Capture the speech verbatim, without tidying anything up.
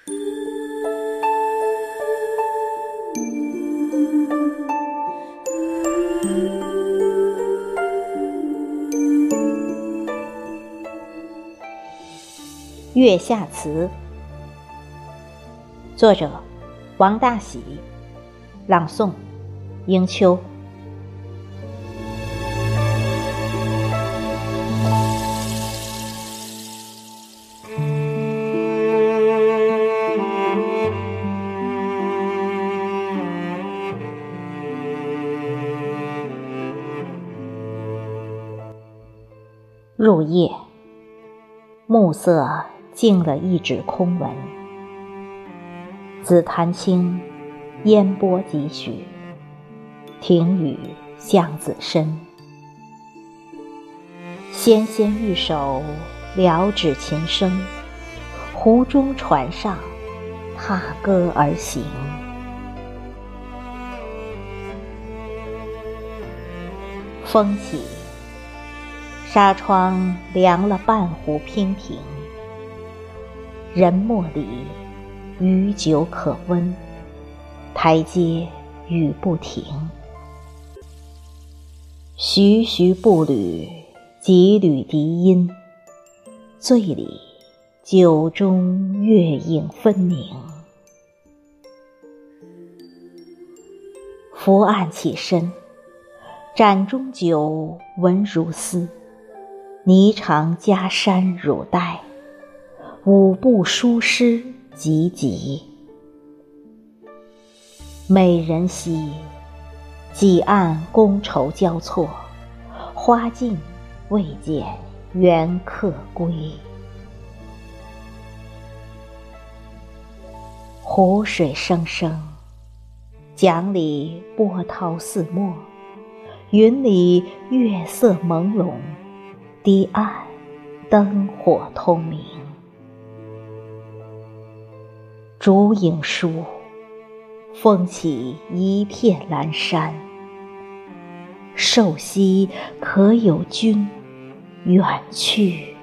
月下词，作者王大喜，朗诵迎秋。入夜，暮色静了一纸空文，紫檀青，烟波几许，庭宇向子深。纤纤玉手撩指琴声，湖中船上踏歌而行。风起，纱窗凉了半湖娉婷，人莫里，余酒可温，台阶雨不停。徐徐步履，几缕笛音，醉里酒中月影分明。伏案起身，盏中酒闻如丝，霓裳加衫汝带，舞步书诗急急。美人兮，几案觥筹交错，花径未见缘客归。湖水声声，桨里波涛四没，云里月色朦胧，堤岸灯火通明。烛影疏，风起一片阑珊。瘦兮可有君远去。